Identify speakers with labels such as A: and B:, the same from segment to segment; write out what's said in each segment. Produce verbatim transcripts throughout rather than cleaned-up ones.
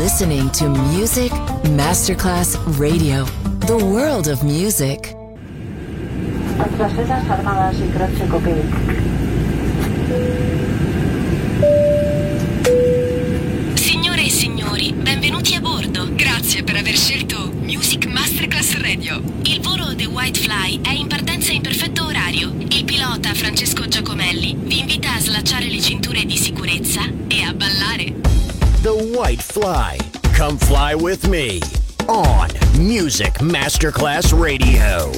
A: listening to Music Masterclass Radio, the world of music.
B: Attraversas armadas y croce copil.
C: Signore e signori, benvenuti a bordo. Grazie per aver scelto Music Masterclass Radio. Il volo The White Fly è in partenza in perfetto orario. Il pilota Francesco Giacomelli vi invita a slacciare le cinture di sicurezza e a ballare.
D: The White Fly. Come fly with me on Music Masterclass Radio.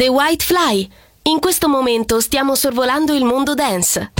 C: White Fly. In questo momento stiamo sorvolando il mondo dance.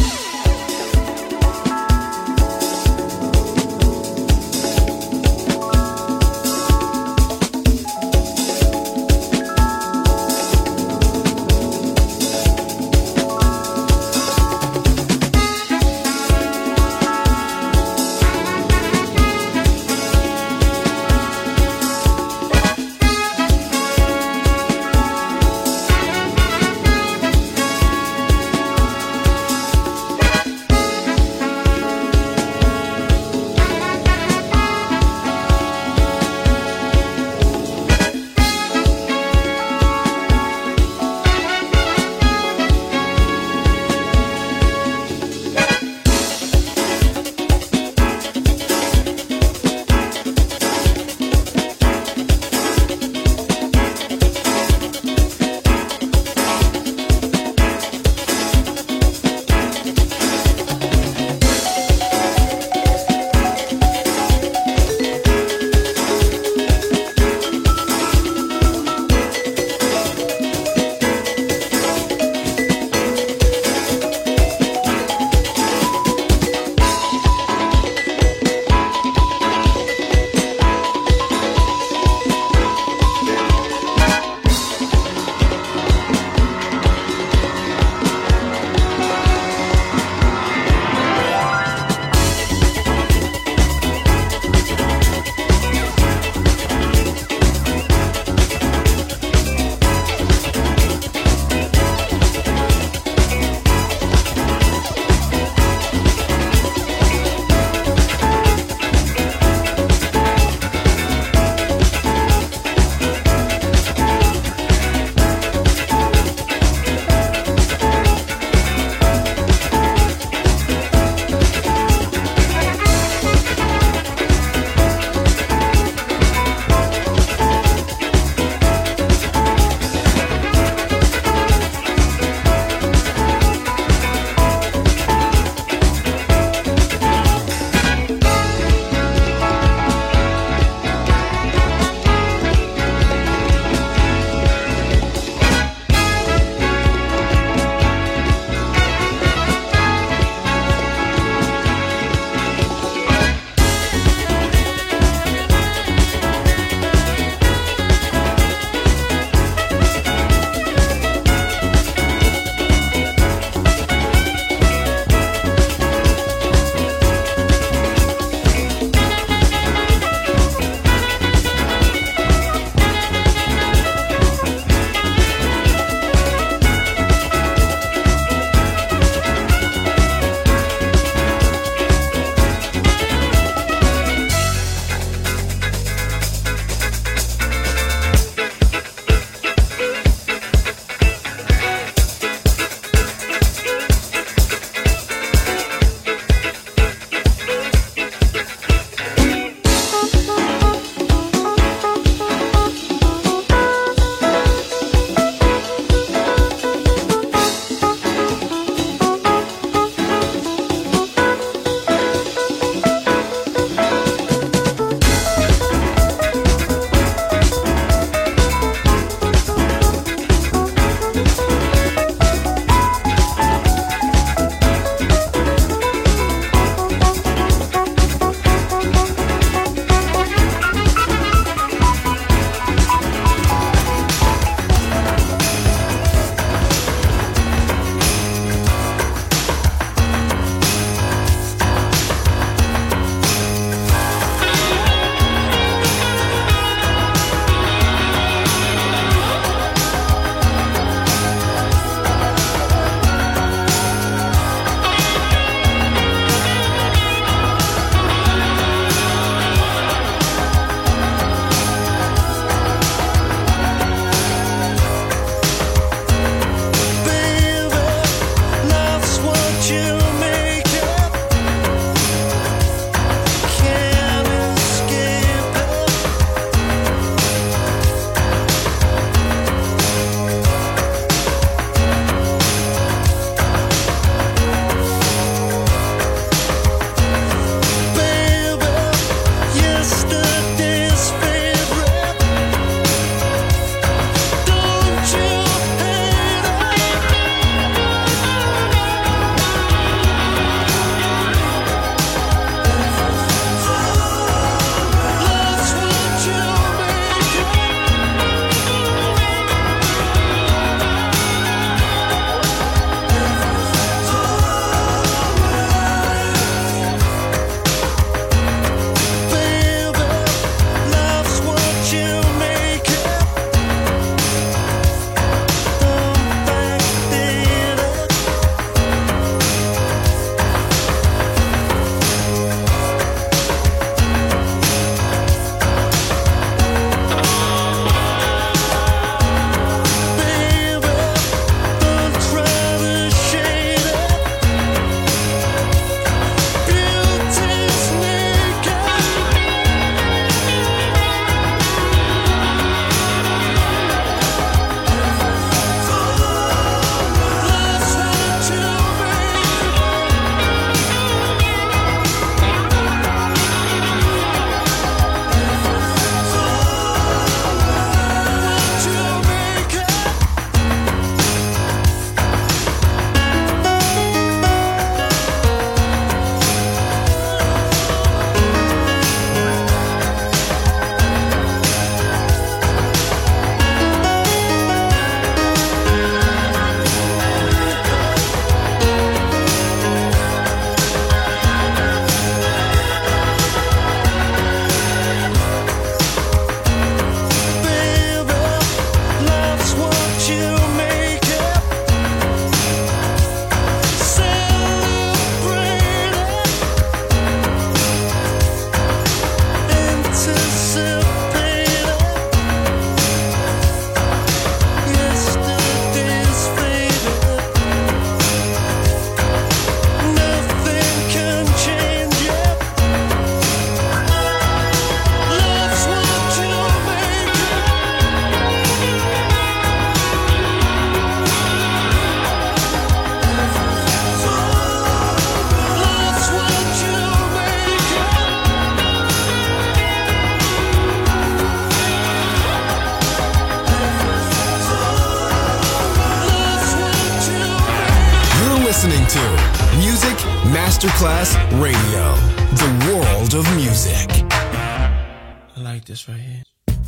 E: Masterclass Radio, the world of music.
F: I like this right here.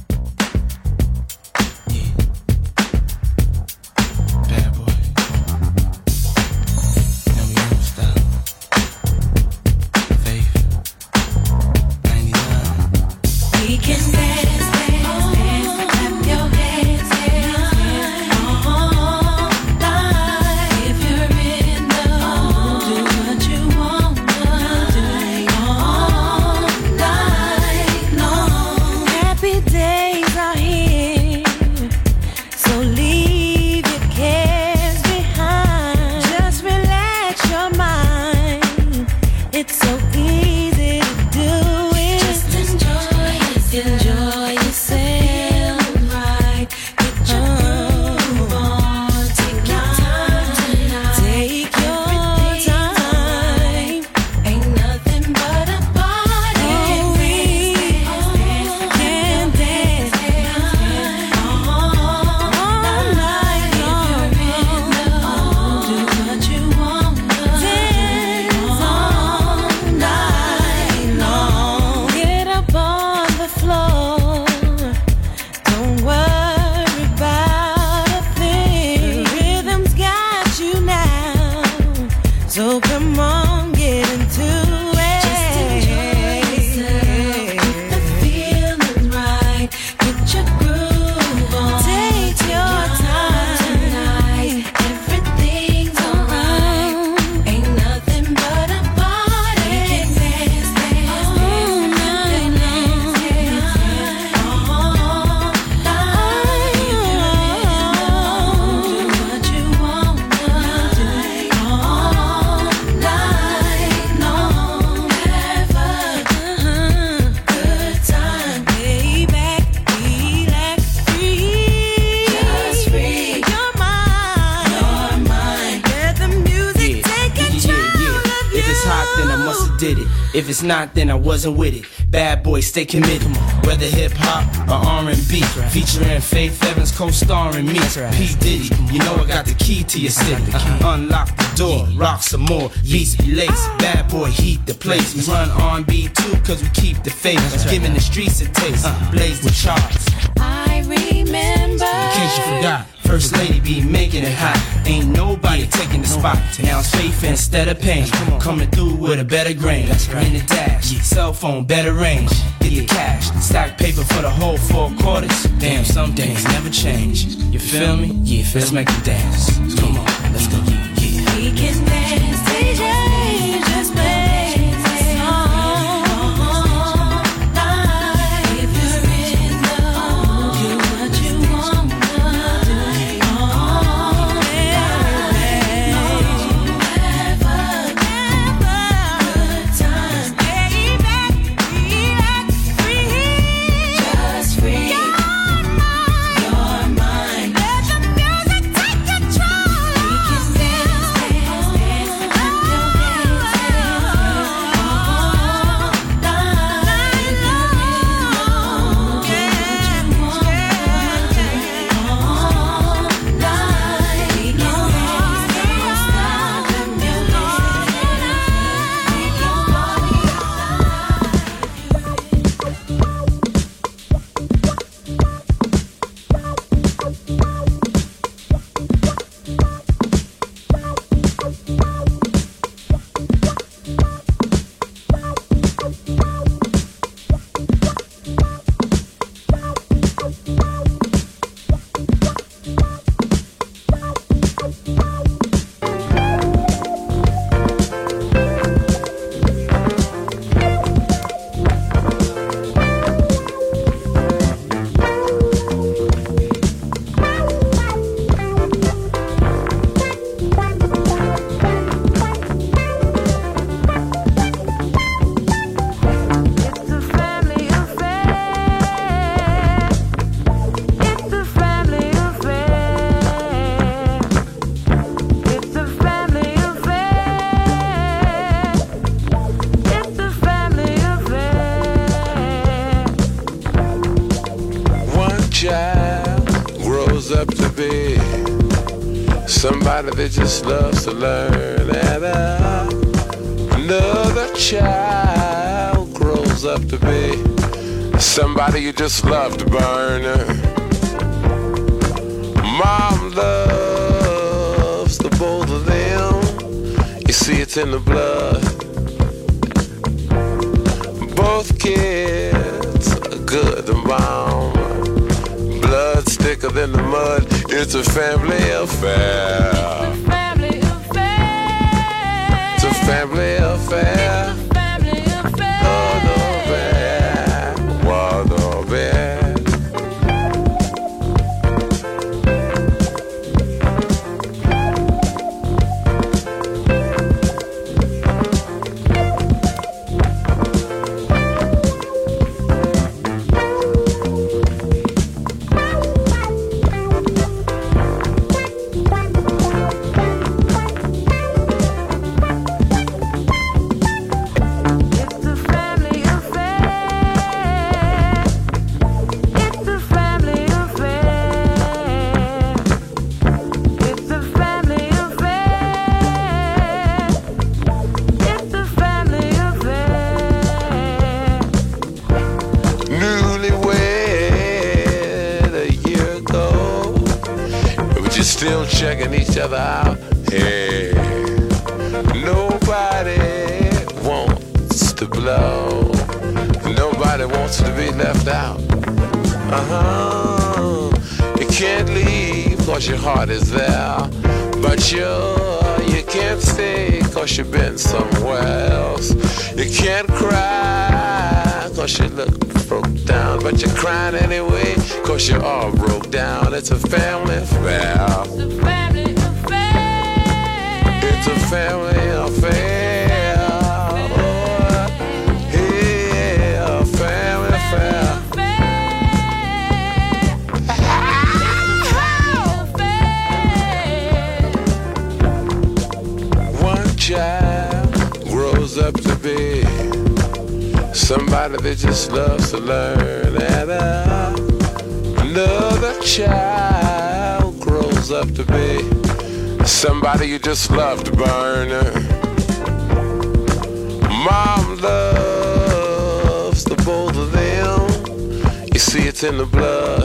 F: If it's not, then I wasn't with it. Bad boy, stay committed. Whether hip hop or R and B, featuring Faith Evans, co-starring me. P Diddy, you know I got the key to your city. Unlock the door, rock some more, beats be lace. Bad boy, heat the place. We run R and B too, cause we keep the faith. Giving the streets a taste, blaze the charts.
C: I remember.
F: In case you forgot, First Lady be making it hot. Ain't nobody taking the spot. Now it's faith instead of pain. Coming through with a better grain. In the dash, cell phone, better range. Get the cash, stack paper for the whole four quarters. Damn, some things never change. You feel me? Yeah, let's make it dance. Come on, let's go. Yeah, yeah.
C: We can dance, D J, just play.
G: Somebody that just loves to learn, and I child grows up to be somebody you just love to burn. Mom loves the both of them. You see it's in the blood. Both kids are good and bomb. Blood's thicker than the mud. It's a family affair. It's a family affair. Still checking each other out. Hey, nobody wants to blow. Nobody wants to be left out. Uh-huh. You can't leave cause your heart is there. But you, you can't stay cause you've been somewhere else. You can't cry cause you look broke down. But you're crying anyway cause you're all broke down. It's a family affair. It's a family affair. It's a family affair. Oh, yeah, a family affair. One child grows up to be somebody that just loves to learn, and uh, another child grows up to be somebody you just love to burn. Mom loves the both of them. You see it's in the blood.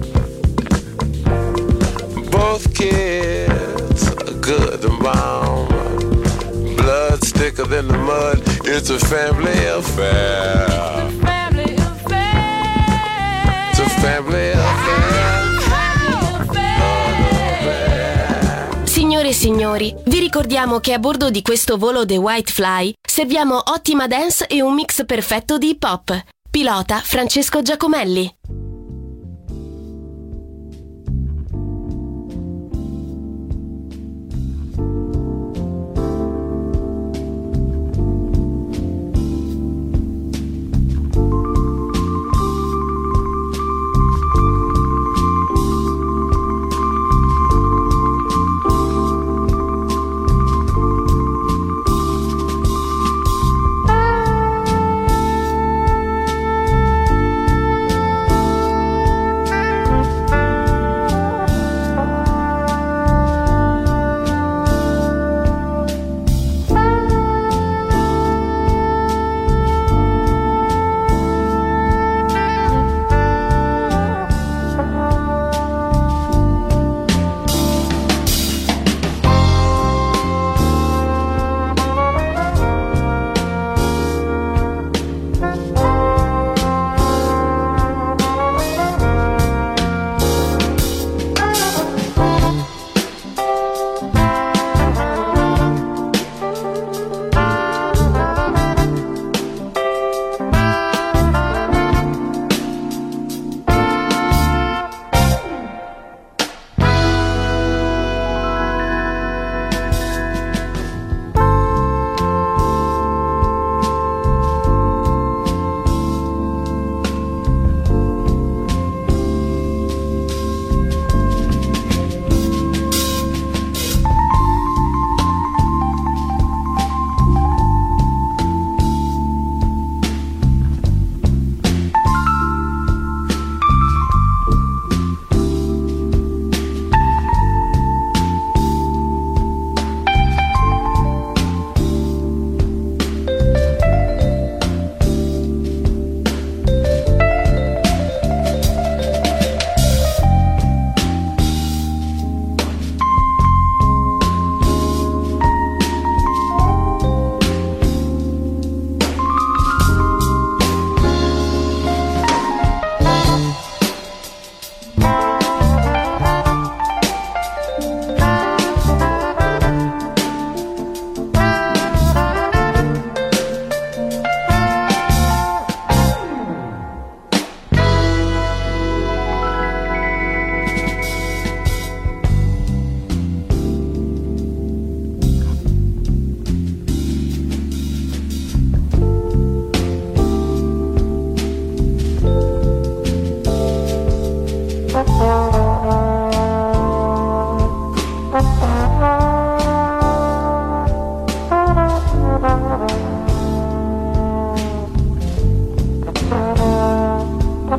G: Both kids are good and bomb. Blood's thicker than the mud. It's a family affair. It's a family affair. It's a family affair.
C: Signore e signori, vi ricordiamo che a bordo di questo volo The White Fly serviamo ottima dance e un mix perfetto di hip hop. Pilota Francesco Giacomelli.
H: Thank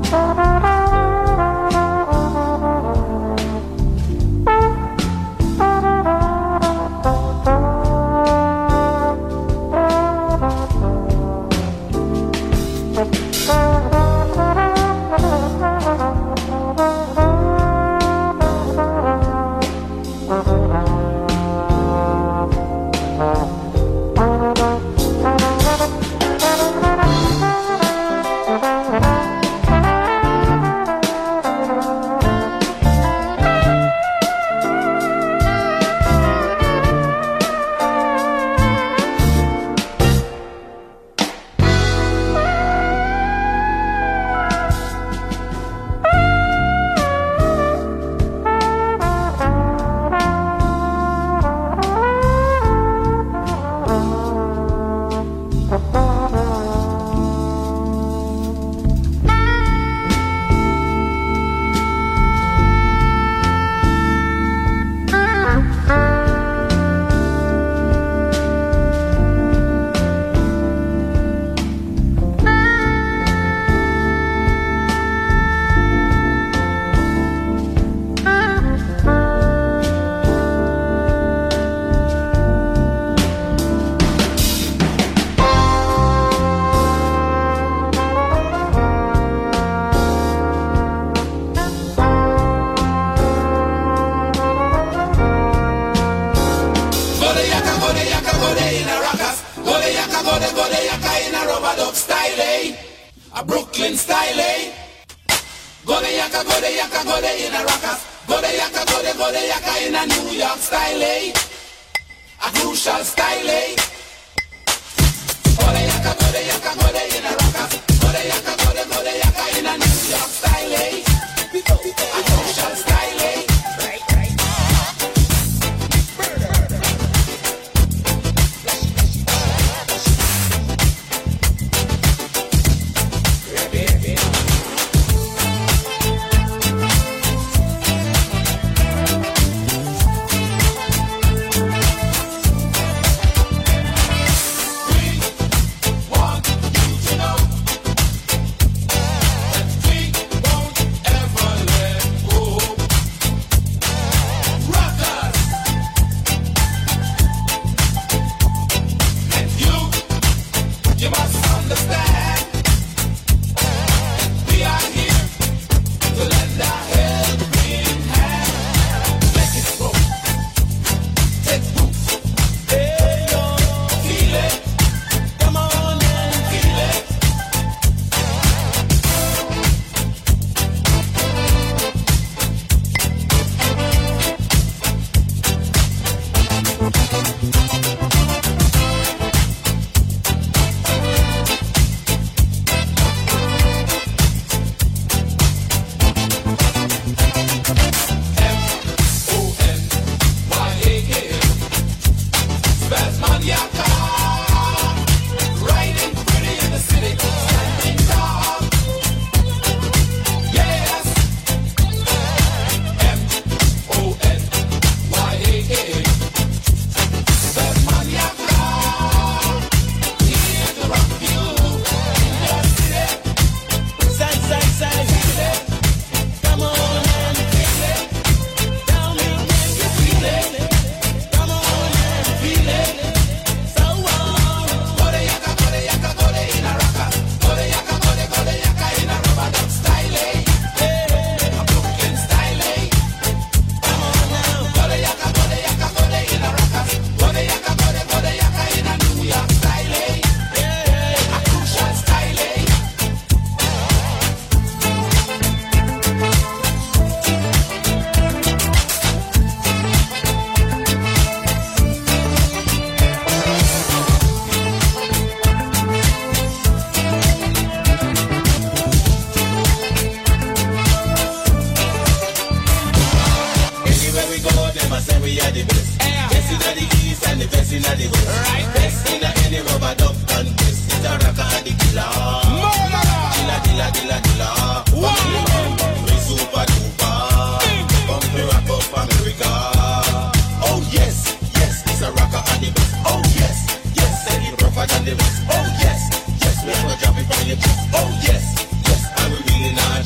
H: Oh yes, yes, we are gonna drop it from your chest. Oh yes, yes, and we really not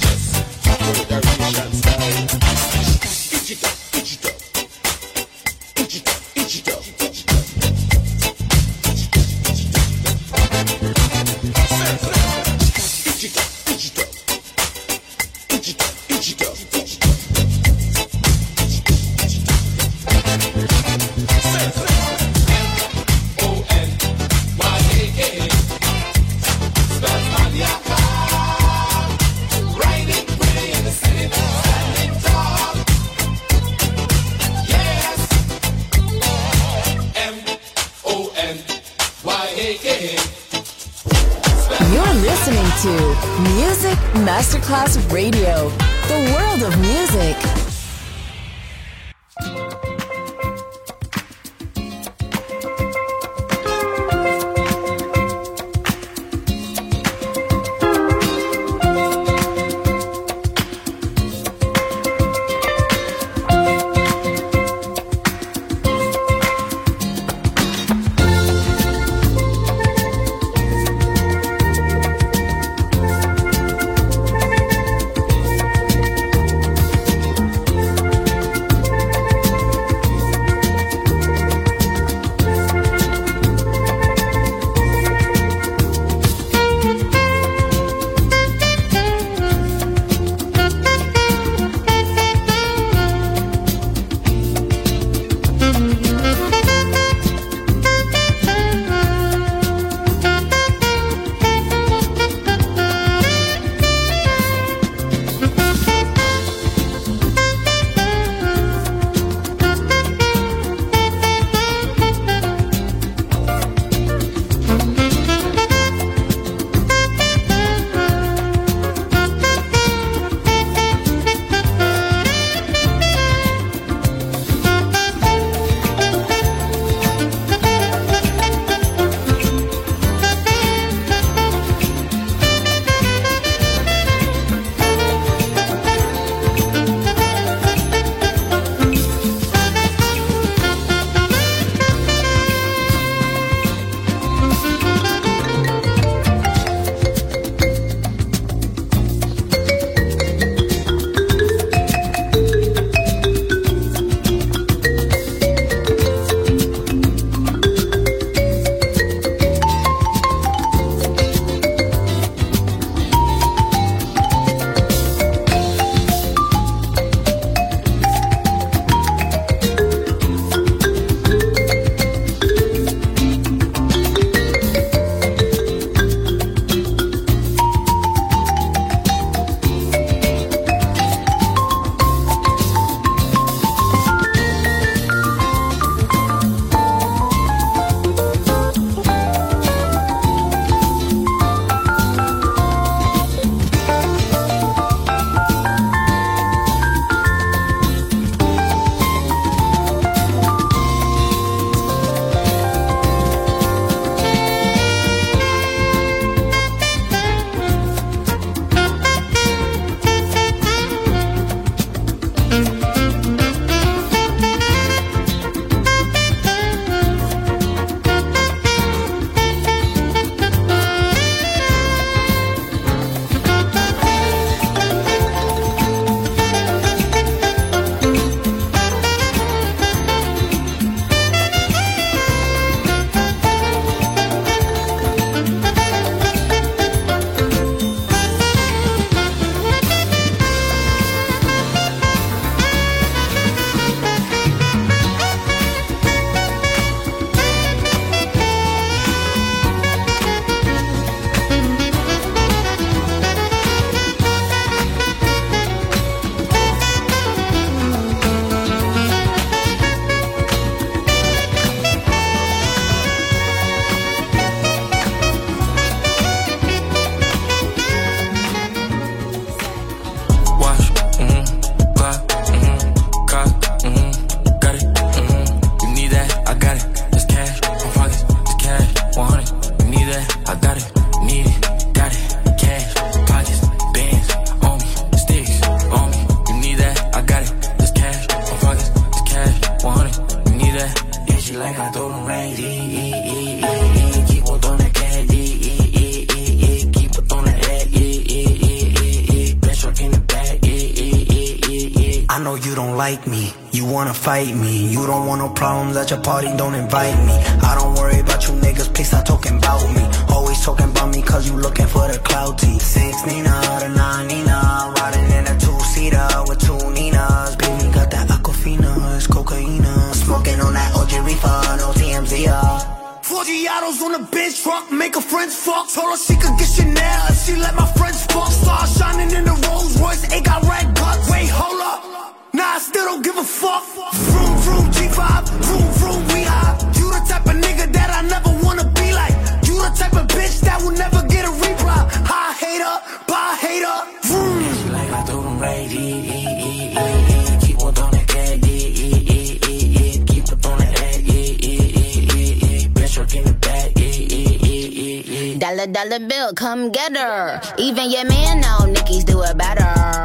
A: Music Masterclass Radio. The world of music.
H: like me. You wanna fight me. You don't want no problems at your party, don't invite me. I don't worry about you niggas, please stop talking about me. Always talking about me cause you looking for the clout T. Six Nina, the nine Nina, riding in a two-seater with two Ninas. Baby got that Aquafina, it's cocaina. Smoking on that O G reefer, no T M Z, uh. Four Giottos on the bench truck, make her friends fuck. Told her she could get Chanel if she let my friends fuck. Stars shining in the Rolls Royce, it got red guts. Wait, hold up, nah, I still don't give a fuck. Vroom, vroom, G five, vroom, vroom, we high. You the type of nigga that I never wanna be like. You the type of bitch that will never get a reply. High hater, hater. Vroom. Like I do them right, e, e, e, e, keep on throwing that cat, e, e, e, e, keep on throwing that, e, e, e, e, bitch, I'll give it back, e, e, e, e.
I: Dollar, dollar bill, come get her. Even your man know Nicki's do it better.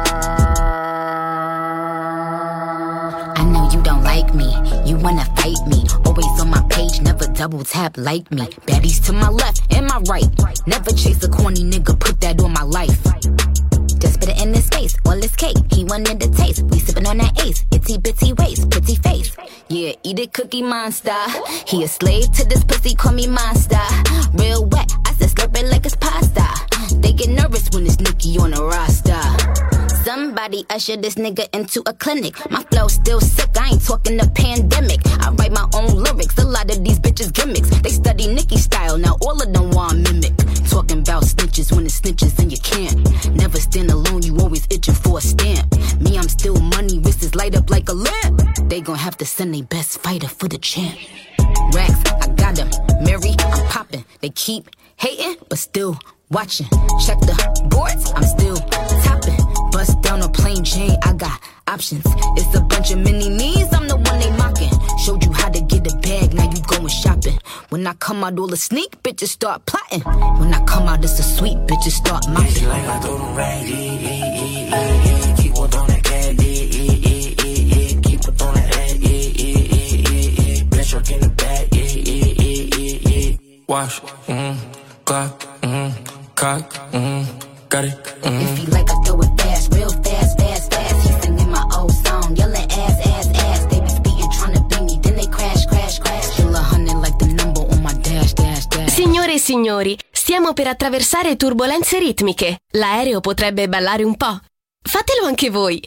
I: I know you don't like me, you wanna fight me. Always on my page, never double tap like me. Baddies to my left and my right. Never chase a corny nigga, put that on my life. Just put it in his face, all his cake. He wanted the taste, we sippin' on that ace. Itty bitty waist, pretty face. Yeah, eat it, Cookie Monster. He a slave to this pussy, call me monster. Real wet, I said slurp it like it's pasta. They get nervous when it's Nicki on the roster. Somebody usher this nigga into a clinic. My flow still sick, I ain't talking the pandemic. I write my own lyrics, a lot of these bitches gimmicks. They study Nicki style, now all of them want mimic. Talking about snitches when it's snitches and you can't. Never stand alone, you always itching for a stamp. Me, I'm still money, wrists light up like a lamp. They gon' have to send their best fighter for the champ. Racks, I got them. Mary, I'm popping. They keep hating, but still watching. Check the boards, I'm still topping. Bust down a plain Jane, I got options. It's a bunch of mini-me's, I'm the one they mocking. Showed you how to get a bag, now you going shopping. When I come out, all the sneak bitches start plotting. When I come out, it's a sweet bitches start mopping.
H: Like I do them right, e, e, e, e, keep on throwing that cat, e, e, e, e, keep on throwing that, e, e, e, e, bitch, I'll give it back, e, e, e, e.
J: Wash, mm-hmm, clock, mm-hmm, cock, mm-hmm, got it, mm-hmm.
I: If he like, I throw it fast, real fast, fast, fast. He singing my old song, yelling ass, ass, ass. They be speeding, trying to beat me, then they crash, crash, crash. Still a hundred like the number on my dash, dash, dash.
C: Signore e signori, stiamo per attraversare turbolenze ritmiche. L'aereo potrebbe ballare un po'. Fatelo anche voi.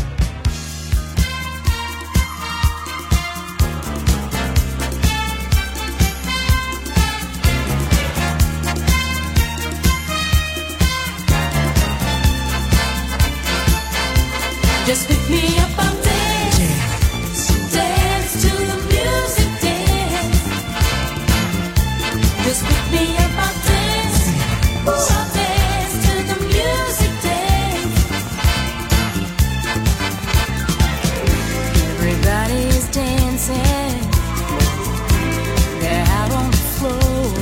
K: Just pick me up, I'll dance, dance to the music, dance. Just pick me up, I'll dance, I'll dance to the music, dance. Everybody's dancing, they're out on the floor.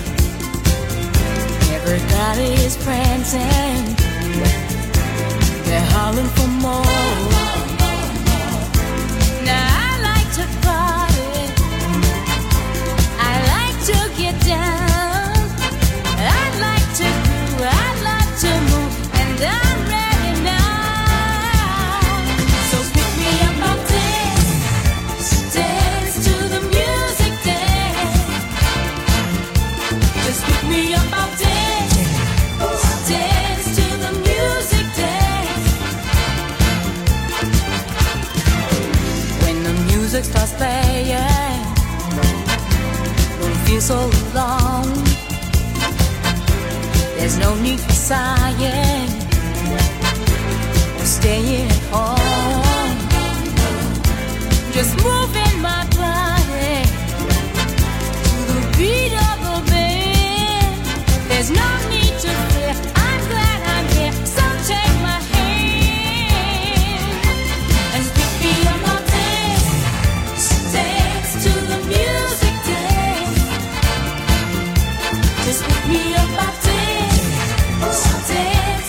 K: Everybody's prancing, they're hollering for more. Now I like to party, I like to get down, I like to do, I like to move, and I'm ready now. So pick me up, I'll dance, dance to the music, dance. Just pick me up, I'll dance, dance to the music, dance. When the music starts playing, don't feel so alone. There's no need for sighing or staying at home. Just moving my body to the beat of the band. There's no need to fear, I'm glad I'm here. So take my hand and pick me up, I'll dance, dance to the music, dance. Just pick me up, I'll dance, dance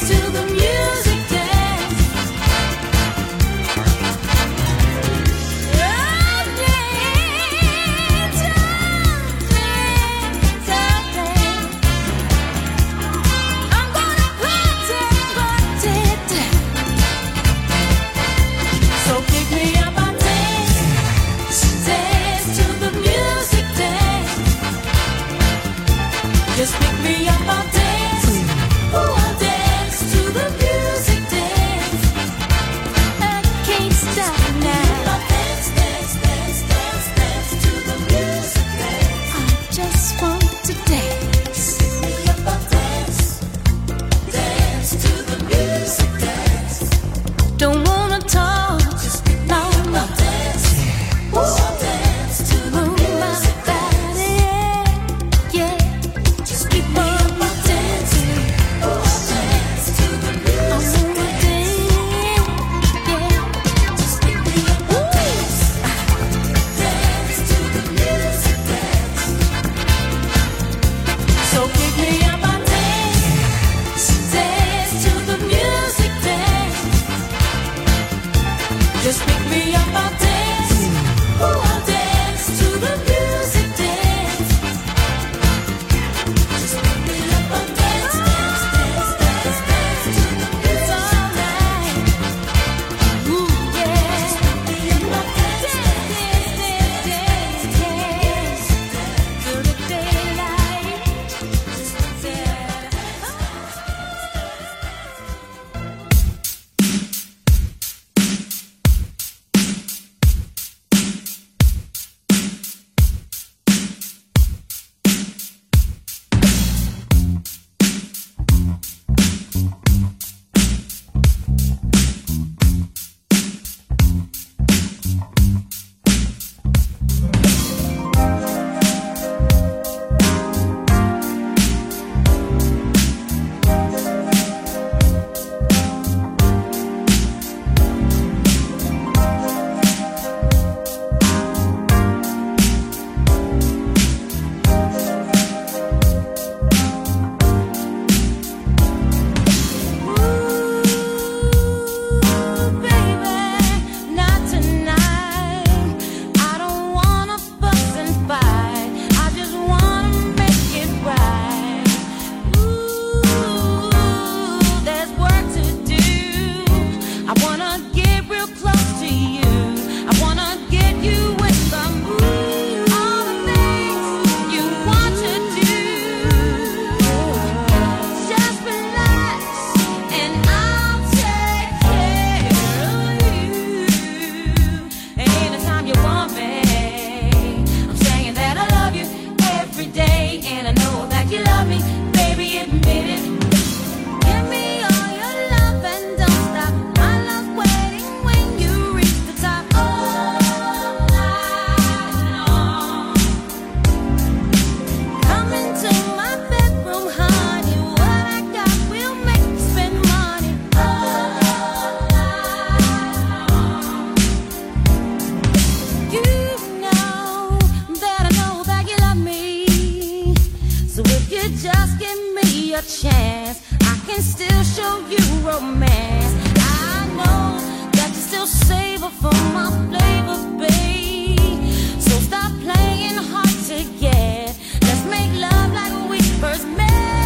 K: romance. I know that you still savor for my flavor, babe. So stop playing hard to get. Let's make love like we first met.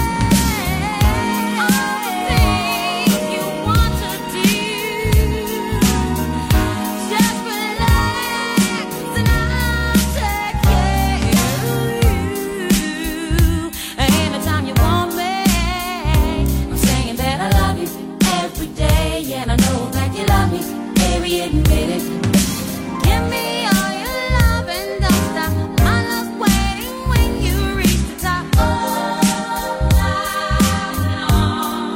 K: Admit it. Give me all your love and don't stop. My love's waiting when you reach the top. All night long.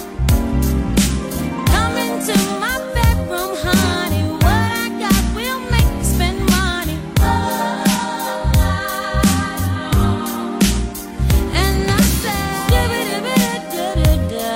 K: Come into my bedroom, honey. What I got will make you spend money. All night long. And I said, da-da-da-da-da-da-da.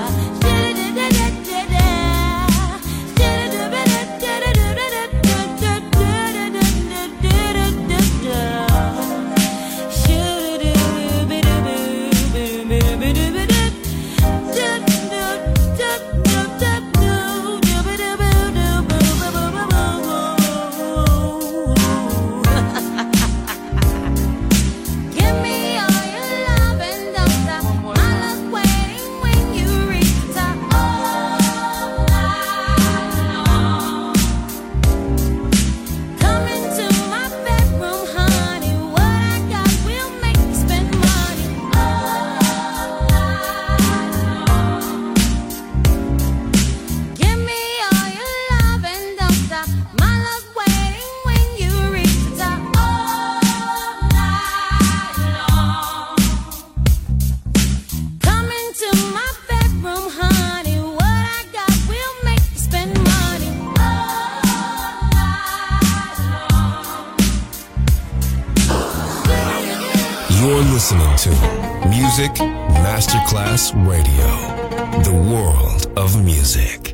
E: Listening to Music Masterclass Radio, the world of music.